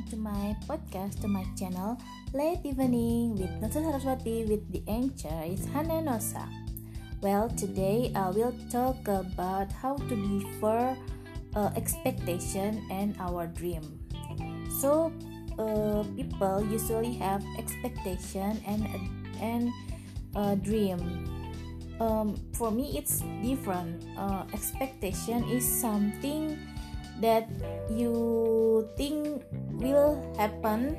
to my podcast, to my channel Late Evening with Nosa Saraswati with the anchor is Hana Nosa. Well, today I will talk about how to differ expectation and our dream. So, people usually have expectation and a dream. For me, it's different. Expectation is something that you think will happen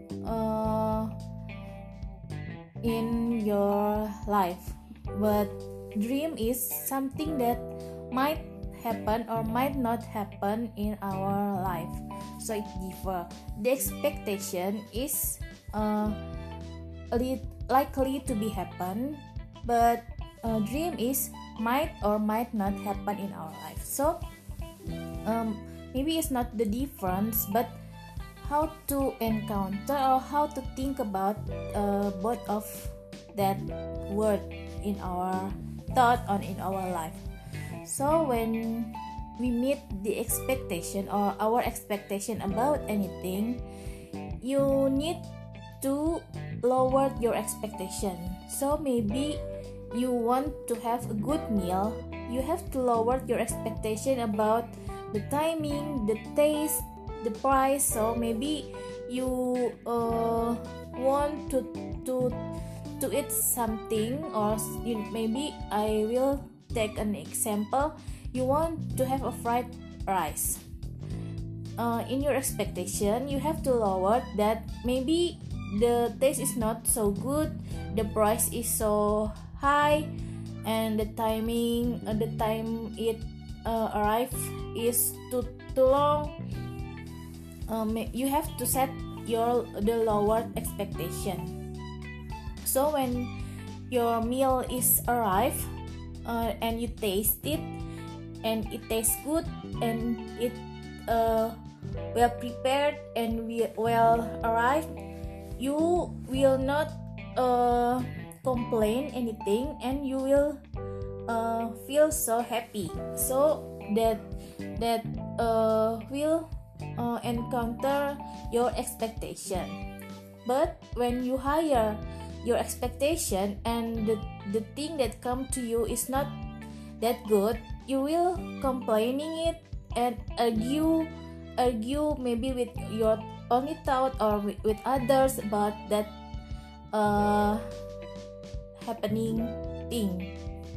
in your life, but dream is something that might happen or might not happen in our life, so it differ. The expectation is likely to be happen, but dream is might or might not happen in our life. So maybe it's not the difference, but how to encounter or how to think about both of that word in our thought or in our life. So when we meet the expectation or our expectation about anything, you need to lower your expectation. So maybe you want to have a good meal, you have to lower your expectation about the timing, the taste, the price. So maybe you want to eat something, or maybe I will take an example. You want to have a fried rice. In your expectation, you have to lower that. Maybe the taste is not so good, the price is so high, and the timing, the time it arrive is too long. You have to set the lower expectation. So when your meal is arrived and you taste it and it tastes good and it well prepared and well arrived, you will not complain anything, and you will feel so happy. So that will encounter your expectation. But when you higher your expectation and the thing that come to you is not that good, you will complaining it and argue maybe with your only thought or with others about that happening thing.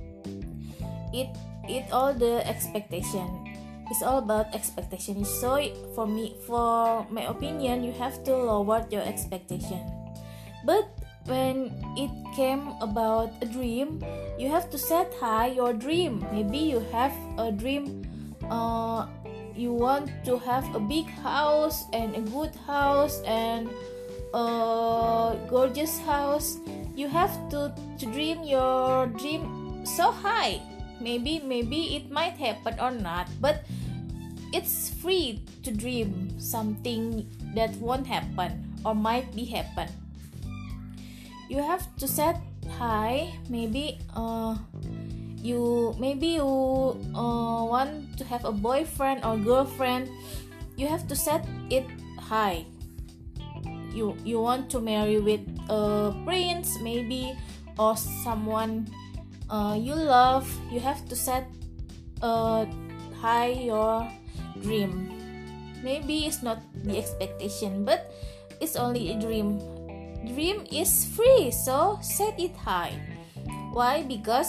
It all the expectation. It's all about expectation. So for my opinion, you have to lower your expectation. But when it came about a dream, you have to set high your dream. Maybe you have a dream, you want to have a big house and a good house and a gorgeous house. You have to dream your dream so high. Maybe it might happen or not, but it's free to dream something that won't happen or might be happen. You have to set high. Maybe you want to have a boyfriend or girlfriend. You have to set it high. You want to marry with a prince maybe, or someone you love. You have to set high your dream. Maybe it's not the expectation, but it's only a dream. Dream is free, so set it high. Why? Because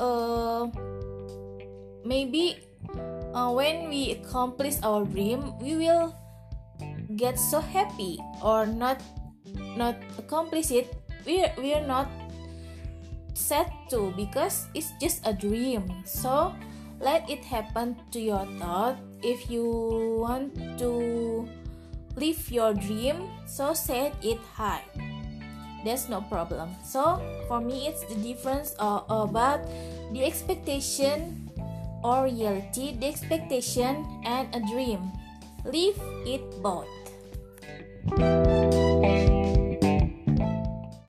maybe when we accomplish our dream, we will get so happy, or not accomplish it, we are not sad too, because it's just a dream. So let it happen to your thought. If you want to live your dream, so set it high. That's no problem. So for me, it's the difference about the expectation or reality, the expectation and a dream. Live it both.